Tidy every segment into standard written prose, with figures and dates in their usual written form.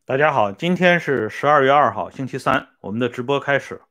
大家好，今天是12月2号，星期三，我们的直播开始。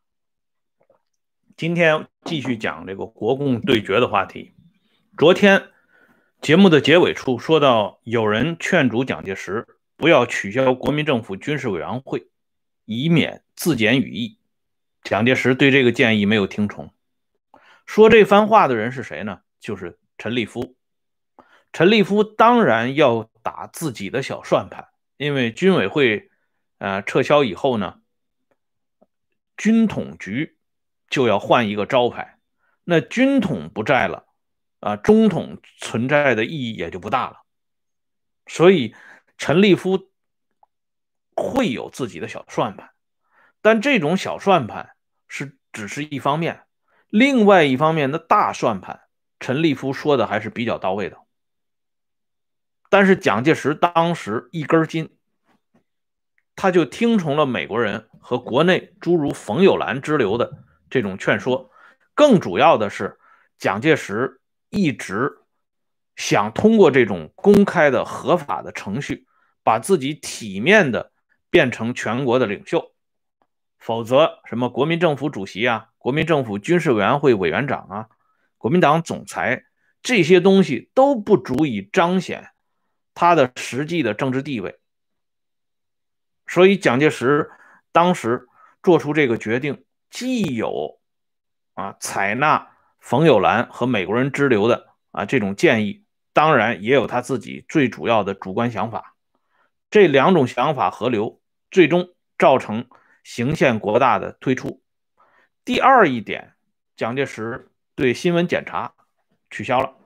今天继续讲这个国共对决的话题。昨天节目的结尾处说到，有人劝阻蒋介石不要取消国民政府军事委员会，以免自检羽翼。蒋介石对这个建议没有听从。说这番话的人是谁呢？就是陈立夫。陈立夫当然要打自己的小算盘，因为军委会撤销以后呢，军统局就要换一个招牌，那军统不在了中统存在的意义也就不大了。所以陈立夫会有自己的小算盘，但这种小算盘只是一方面，另外一方面的大算盘，陈立夫说的还是比较到位的。但是蒋介石当时一根筋，他就听从了美国人和国内诸如冯友兰之流的这种劝说。更主要的是，蒋介石一直想通过这种公开的合法的程序，把自己体面的变成全国的领袖，否则什么国民政府主席啊、国民政府军事委员会委员长啊、国民党总裁这些东西都不足以彰显他的实际的政治地位。所以蒋介石当时做出这个决定，既有采纳冯友兰和美国人支流的这种建议，当然也有他自己最主要的主观想法。这两种想法合流，最终造成行宪国大的推出。第二一点，蒋介石对新闻检查取消了。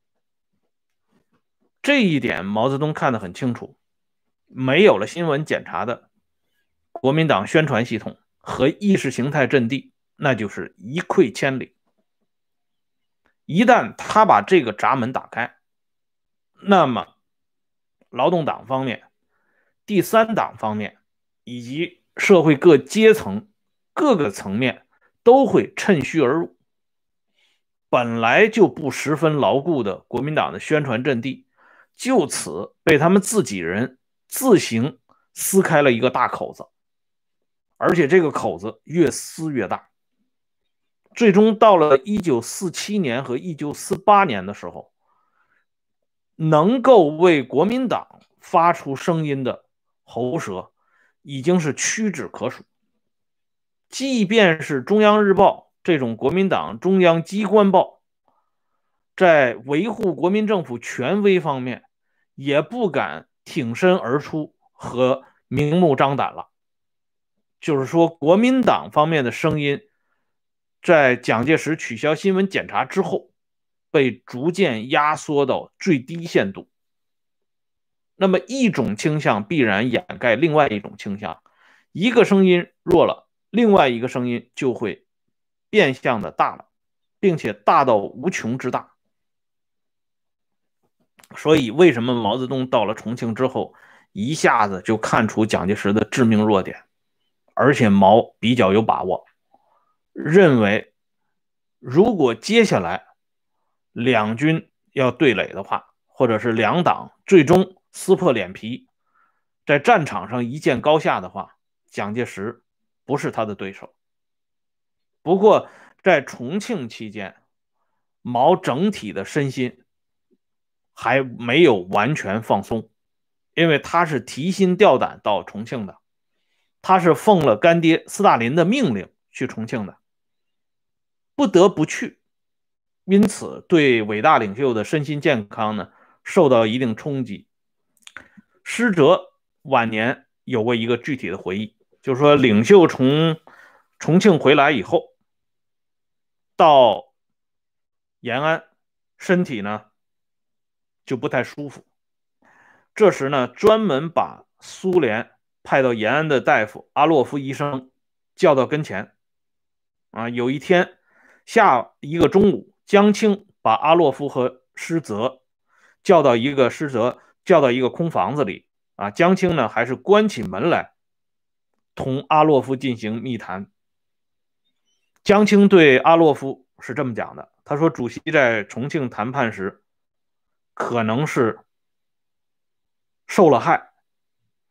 这一点毛泽东看得很清楚，没有了新闻检查的国民党宣传系统和意识形态阵地，那就是一溃千里。一旦他把这个闸门打开，那么劳动党方面、第三党方面以及社会各阶层、各个层面都会趁虚而入。本来就不十分牢固的国民党的宣传阵地，就此被他们自己人自行撕开了一个大口子，而且这个口子越撕越大。最终到了1947年和1948年的时候，能够为国民党发出声音的喉舌已经是屈指可数。即便是中央日报这种国民党中央机关报，在维护国民政府权威方面也不敢挺身而出和明目张胆了。就是说，国民党方面的声音在蒋介石取消新闻检查之后被逐渐压缩到最低限度。那么一种倾向必然掩盖另外一种倾向，一个声音弱了，另外一个声音就会变相的大了，并且大到无穷之大。所以为什么毛泽东到了重庆之后一下子就看出蒋介石的致命弱点，而且毛比较有把握，认为如果接下来两军要对垒的话，或者是两党最终撕破脸皮，在战场上一见高下的话，蒋介石不是他的对手。不过在重庆期间，毛整体的身心还没有完全放松，因为他是提心吊胆到重庆的，他是奉了干爹斯大林的命令去重庆的，不得不去，因此对伟大领袖的身心健康呢受到一定冲击。施哲晚年有过一个具体的回忆，就是说领袖从重庆回来以后，到延安，身体呢就不太舒服。这时呢，专门把苏联派到延安的大夫阿洛夫医生叫到跟前。有一天下一个中午，江青把阿洛夫和施哲叫到一个空房子里。江青呢还是关起门来同阿洛夫进行密谈。江青对阿洛夫是这么讲的，他说主席在重庆谈判时可能是受了害，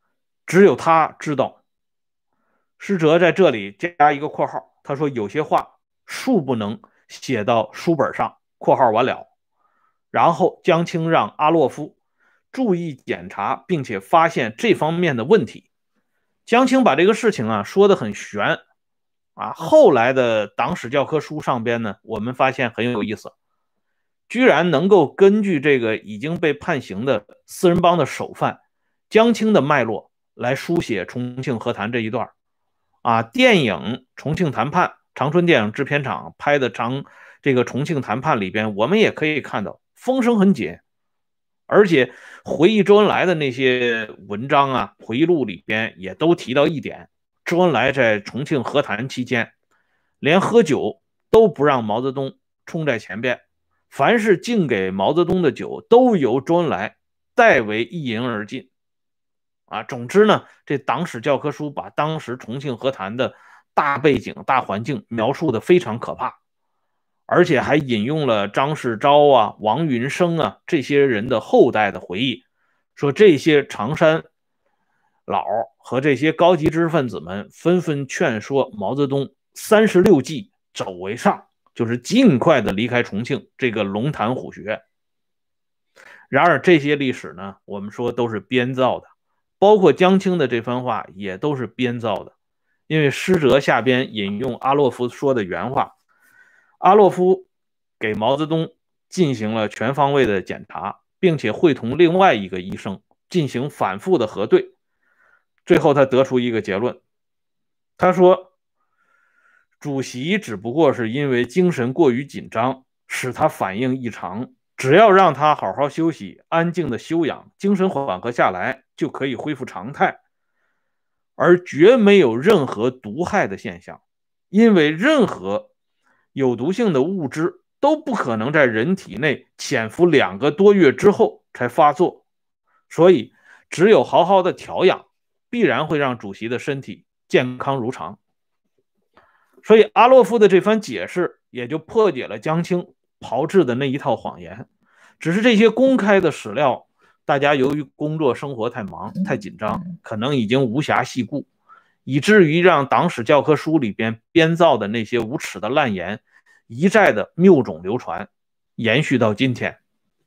只有他知道。施哲在这里加一个括号，他说有些话恕不能写到书本上，括号完了。然后江青让阿洛夫注意检查，并且发现这方面的问题。江青把这个事情说得很悬后来的党史教科书上边呢，我们发现很有意思，居然能够根据这个已经被判刑的四人帮的首犯江青的脉络来书写重庆和谈这一段电影《重庆谈判》，长春电影制片厂拍的这个重庆谈判里边，我们也可以看到风声很紧，而且回忆周恩来的那些文章回忆录里边也都提到一点，周恩来在重庆和谈期间，连喝酒都不让毛泽东冲在前边，凡是敬给毛泽东的酒都由周恩来代为一饮而尽。总之呢，这党史教科书把当时重庆和谈的大背景、大环境描述的非常可怕，而且还引用了张世钊王云生这些人的后代的回忆，说这些常山老和这些高级知识分子们纷纷劝说毛泽东36计走为上，就是尽快的离开重庆这个龙潭虎穴。然而这些历史呢，我们说都是编造的，包括江青的这番话也都是编造的。因为施哲下边引用阿洛夫说的原话，阿洛夫给毛泽东进行了全方位的检查，并且会同另外一个医生进行反复的核对，最后他得出一个结论，他说主席只不过是因为精神过于紧张使他反应异常，只要让他好好休息，安静的休养，精神缓和下来就可以恢复常态，而绝没有任何毒害的现象，因为任何有毒性的物质都不可能在人体内潜伏2个多月之后才发作，所以只有好好的调养，必然会让主席的身体健康如常。所以阿洛夫的这番解释也就破解了江青炮制的那一套谎言。只是这些公开的史料，大家由于工作生活太忙太紧张，可能已经无暇细顾，以至于让党史教科书里边编造的那些无耻的烂言一再的谬种流传，延续到今天。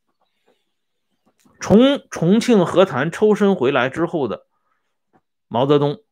从重庆和谈抽身回来之后的毛泽东，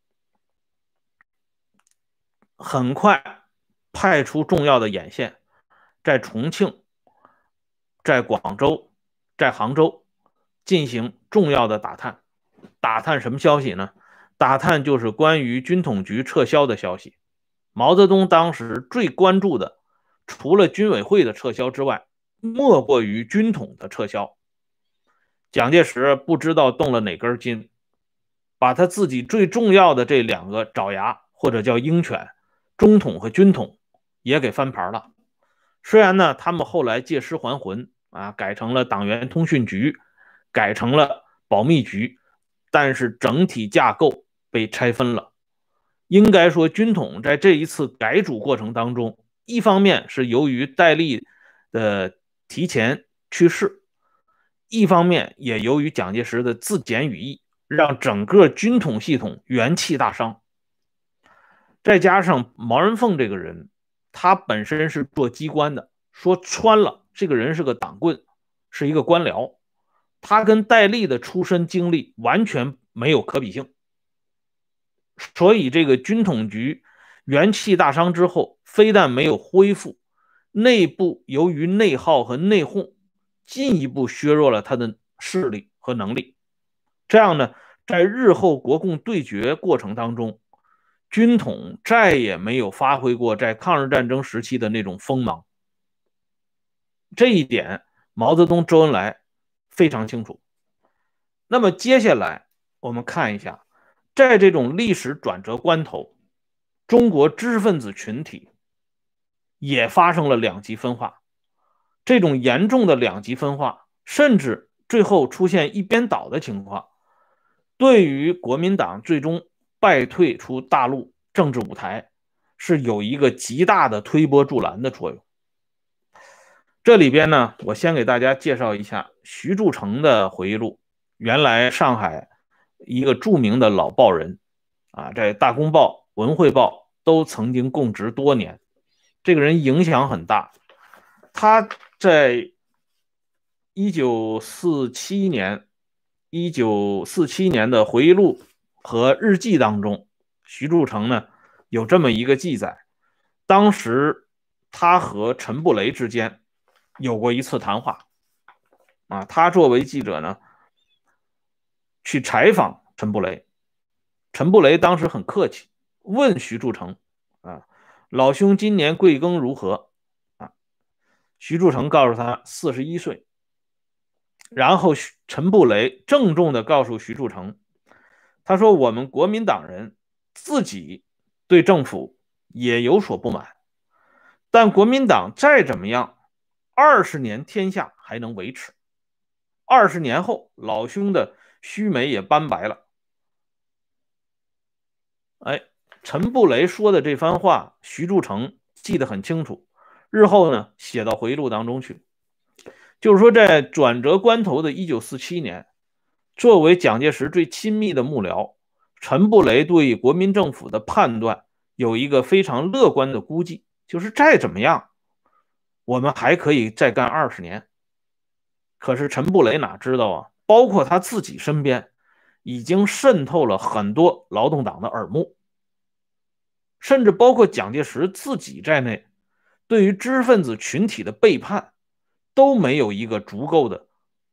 很快派出重要的眼线，在重庆、在广州、在杭州进行重要的打探。打探什么消息呢？打探就是关于军统局撤销的消息。毛泽东当时最关注的，除了军委会的撤销之外，莫过于军统的撤销。蒋介石不知道动了哪根筋，把他自己最重要的这2个爪牙，或者叫鹰犬，中统和军统也给翻盘了。虽然呢，他们后来借尸还魂改成了党员通讯局，改成了保密局，但是整体架构被拆分了。应该说，军统在这一次改组过程当中，一方面是由于戴笠的提前去世，一方面也由于蒋介石的自检羽翼，让整个军统系统元气大伤。再加上毛人凤这个人，他本身是做机关的，说穿了，这个人是个党棍，是一个官僚，他跟戴笠的出身经历完全没有可比性。所以这个军统局元气大伤之后，非但没有恢复，内部由于内耗和内讧，进一步削弱了他的势力和能力。这样呢，在日后国共对决过程当中，军统再也没有发挥过在抗日战争时期的那种锋芒。这一点毛泽东、周恩来非常清楚。那么接下来我们看一下，在这种历史转折关头，中国知识分子群体也发生了两极分化。这种严重的两极分化，甚至最后出现一边倒的情况，对于国民党最终败退出大陆政治舞台是有一个极大的推波助澜的作用。这里边呢，我先给大家介绍一下徐铸成的回忆录。原来上海一个著名的老报人啊，在大公报、文汇报都曾经供职多年，这个人影响很大。他在1947年的回忆录和日记当中，徐铸成呢有这么一个记载，当时他和陈布雷之间有过一次谈话啊，他作为记者呢去采访陈布雷，陈布雷当时很客气，问徐铸成啊，老兄今年贵庚如何啊？徐铸成告诉他41岁。然后陈布雷郑重地告诉徐铸成，他说我们国民党人自己对政府也有所不满，但国民党再怎么样，20年天下还能维持，20年后老兄的须眉也斑白了。哎，陈布雷说的这番话，徐铸成记得很清楚，日后呢写到回忆录当中去。就是说，在转折关头的1947年，作为蒋介石最亲密的幕僚，陈布雷对国民政府的判断有一个非常乐观的估计，就是再怎么样，我们还可以再干20年。可是陈布雷哪知道啊，包括他自己身边，已经渗透了很多劳动党的耳目，甚至包括蒋介石自己在内，对于知识分子群体的背叛，都没有一个足够的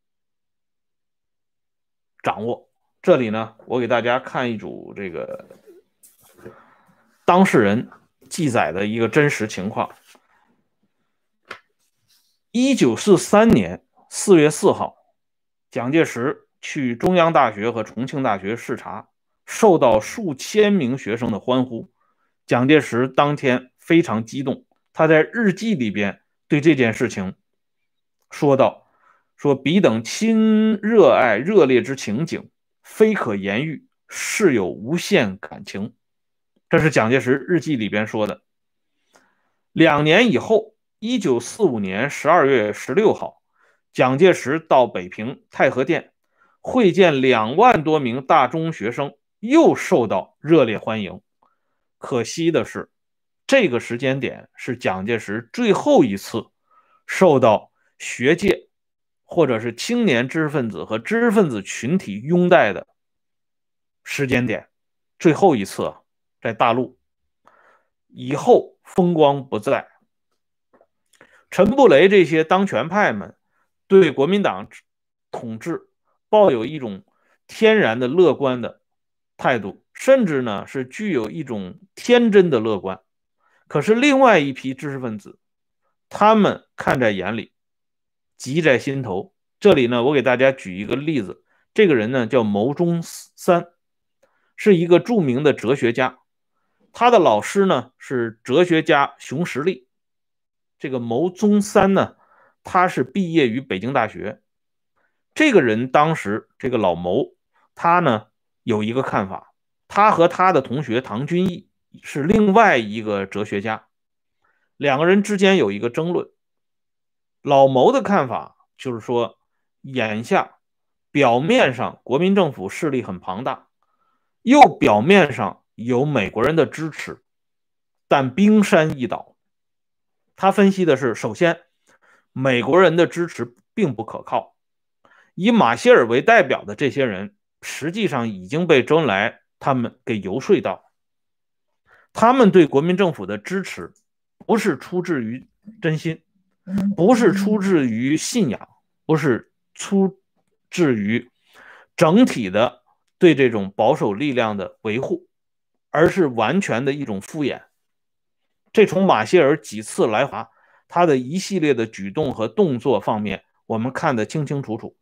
掌握。这里呢，我给大家看一组这个当事人记载的一个真实情况。1943年4月4号，蒋介石去中央大学和重庆大学视察，受到数千名学生的欢呼。蒋介石当天非常激动，他在日记里边对这件事情说道：说彼等亲热爱热烈之情景，非可言喻，是有无限感情。这是蒋介石日记里边说的。2年以后，1945年12月16号，蒋介石到北平太和殿会见2万多名大中学生，又受到热烈欢迎。可惜的是，这个时间点是蒋介石最后一次受到学界或者是青年知识分子和知识分子群体拥戴的时间点，最后一次在大陆，以后风光不再。陈布雷这些当权派们对国民党统治抱有一种天然的乐观的态度，甚至呢是具有一种天真的乐观。可是另外一批知识分子，他们看在眼里，急在心头。这里呢，我给大家举一个例子，这个人呢叫牟宗三，是一个著名的哲学家，他的老师呢是哲学家熊十力。这个牟宗三呢，他是毕业于北京大学。这个人当时这个老牟，他呢有一个看法，他和他的同学唐君毅是另外一个哲学家，两个人之间有一个争论。老牟的看法就是说，眼下表面上国民政府势力很庞大，又表面上有美国人的支持，但冰山一角。他分析的是，首先美国人的支持并不可靠，以马歇尔为代表的这些人实际上已经被周恩来他们给游说到，他们对国民政府的支持不是出自于真心，不是出自于信仰，不是出自于整体的对这种保守力量的维护，而是完全的一种敷衍。这从马歇尔几次来华，他的一系列的举动和动作方面，我们看得清清楚楚。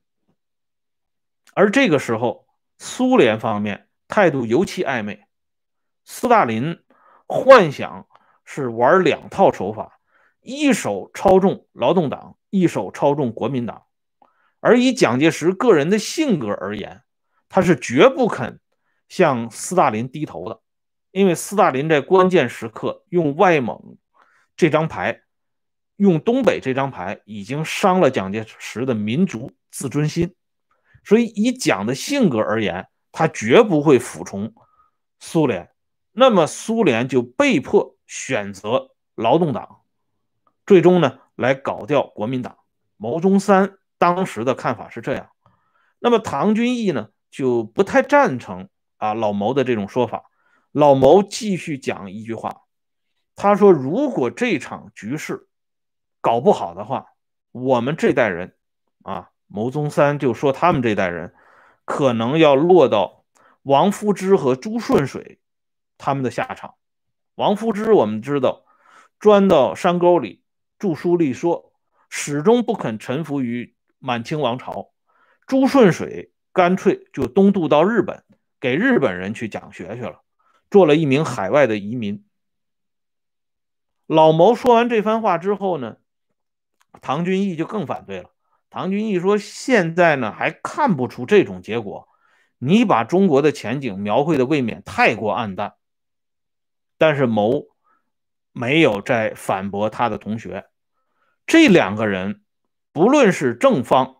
而这个时候，苏联方面态度尤其暧昧，斯大林幻想是玩2套手法，一手操纵劳动党，一手操纵国民党。而以蒋介石个人的性格而言，他是绝不肯向斯大林低头的，因为斯大林在关键时刻用外蒙这张牌，用东北这张牌，已经伤了蒋介石的民族自尊心。所以以蒋的性格而言， 他绝不会服从苏联，那么苏联就被迫选择劳动党，最终呢来搞掉国民党。牟宗三当时的看法是这样，那么唐君毅呢就不太赞成老牟的这种说法。老牟继续讲一句话，他说如果这场局势搞不好的话，我们这代人牟宗三就说他们这代人可能要落到王夫之和朱顺水他们的下场。王夫之我们知道钻到山沟里著书立说，始终不肯臣服于满清王朝。朱顺水干脆就东渡到日本，给日本人去讲学去了，做了一名海外的移民。老牟说完这番话之后呢，唐君毅就更反对了。唐君毅说现在呢还看不出这种结果，你把中国的前景描绘的未免太过暗淡。但是牟没有再反驳他的同学。这两个人不论是正方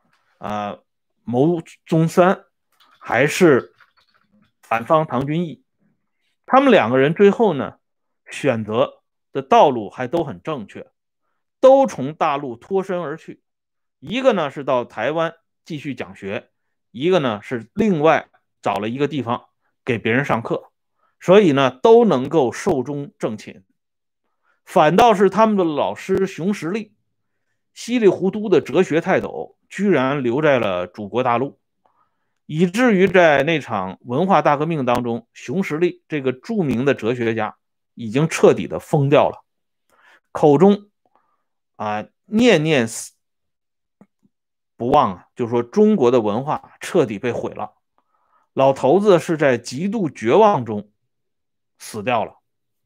牟宗三还是反方唐君毅，他们两个人最后呢选择的道路还都很正确，都从大陆脱身而去。一个呢是到台湾继续讲学，一个呢是另外找了一个地方给别人上课，所以呢都能够寿终正寝。反倒是他们的老师熊十力，稀里糊涂的哲学泰斗，居然留在了祖国大陆，以至于在那场文化大革命当中，熊十力这个著名的哲学家已经彻底的疯掉了，口中念念不忘就说中国的文化彻底被毁了。老头子是在极度绝望中死掉了。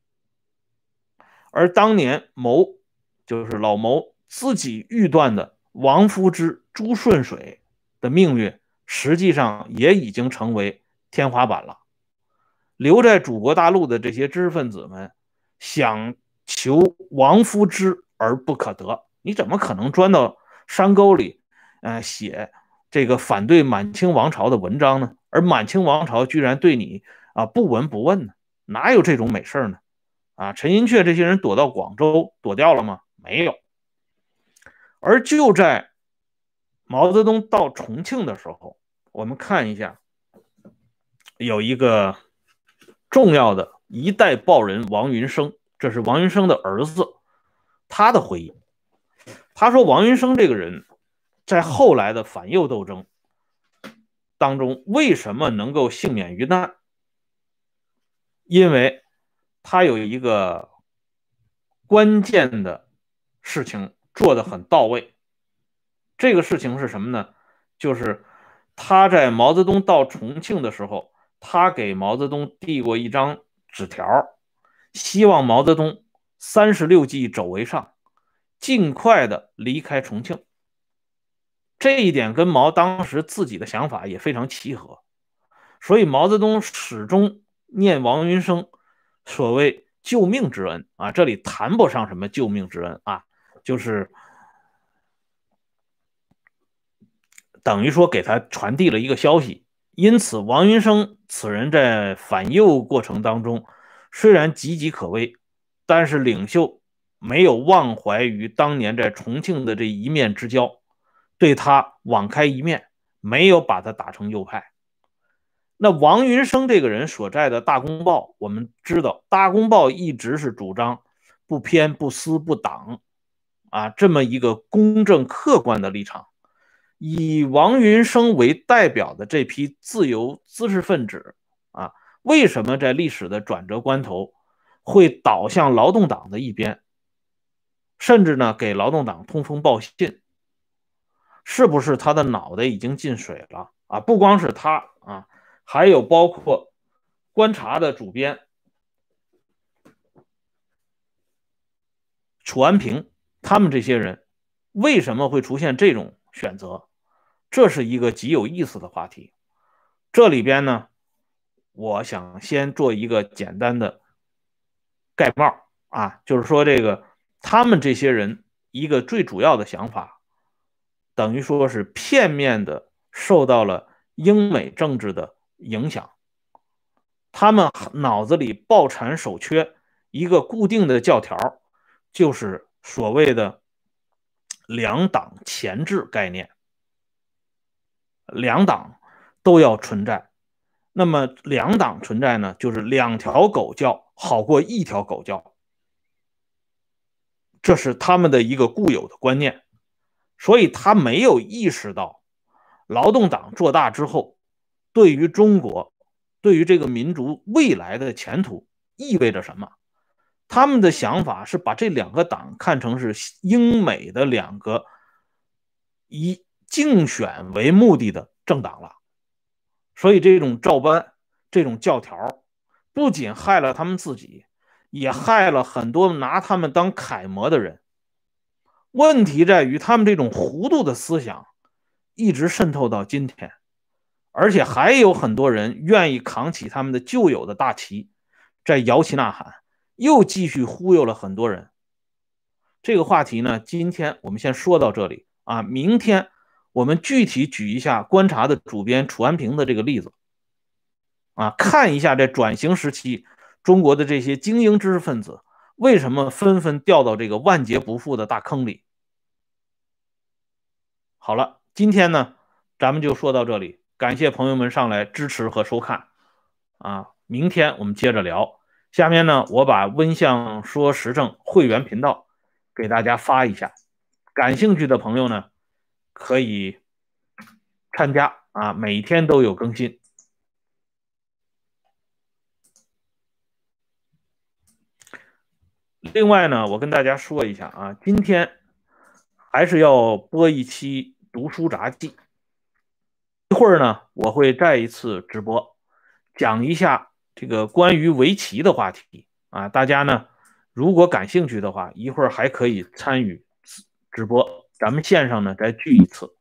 而当年牟就是老牟自己预断的王夫之、朱顺水的命运，实际上也已经成为天花板了。留在祖国大陆的这些知识分子们，想求王夫之而不可得，你怎么可能钻到山沟里写这个反对满清王朝的文章呢？而满清王朝居然对你不闻不问呢？哪有这种美事呢？陈寅恪这些人躲到广州躲掉了吗？没有。而就在毛泽东到重庆的时候，我们看一下，有一个重要的一代报人王云生，这是王云生的儿子，他的回忆。他说王云生这个人在后来的反右斗争当中为什么能够幸免于难？因为他有一个关键的事情做得很到位。这个事情是什么呢？就是他在毛泽东到重庆的时候，他给毛泽东递过一张纸条，希望毛泽东36计走为上，尽快的离开重庆。这一点跟毛当时自己的想法也非常契合，所以毛泽东始终念王云生所谓救命之恩这里谈不上什么救命之恩就是等于说给他传递了一个消息。因此王云生此人在反右过程当中虽然岌岌可危，但是领袖没有忘怀于当年在重庆的这一面之交，对他网开一面，没有把他打成右派。那王云生这个人所在的大公报，我们知道大公报一直是主张不偏不私不党这么一个公正客观的立场。以王云生为代表的这批自由知识分子为什么在历史的转折关头会倒向劳动党的一边，甚至呢给劳动党通风报信？是不是他的脑袋已经进水了不光是他还有包括观察的主编楚安平，他们这些人为什么会出现这种选择？这是一个极有意思的话题。这里边呢，我想先做一个简单的概貌就是说这个他们这些人一个最主要的想法，等于说是片面的受到了英美政治的影响，他们脑子里抱残守缺一个固定的教条，就是所谓的两党前置概念，两党都要存在。那么两党存在呢，就是两条狗叫好过一条狗叫，这是他们的一个固有的观念。所以他没有意识到劳动党做大之后，对于中国，对于这个民族未来的前途意味着什么。他们的想法是把这两个党看成是英美的两个以竞选为目的的政党了。所以这种照搬，这种教条，不仅害了他们自己，也害了很多拿他们当楷模的人。问题在于他们这种糊涂的思想一直渗透到今天，而且还有很多人愿意扛起他们的旧有的大旗，在摇旗呐喊，又继续忽悠了很多人。这个话题呢，今天我们先说到这里啊，明天我们具体举一下观察的主编楚安平的这个例子啊，看一下在转型时期中国的这些精英知识分子为什么纷纷掉到这个万劫不复的大坑里。好了，今天呢，咱们就说到这里，感谢朋友们上来支持和收看啊，明天我们接着聊。下面呢，我把温相说时政会员频道给大家发一下，感兴趣的朋友呢可以参加啊，每天都有更新。另外呢，我跟大家说一下啊，今天还是要播一期读书杂记。一会儿呢，我会再一次直播，讲一下这个关于围棋的话题啊。大家呢，如果感兴趣的话，一会儿还可以参与直播，咱们线上呢再聚一次。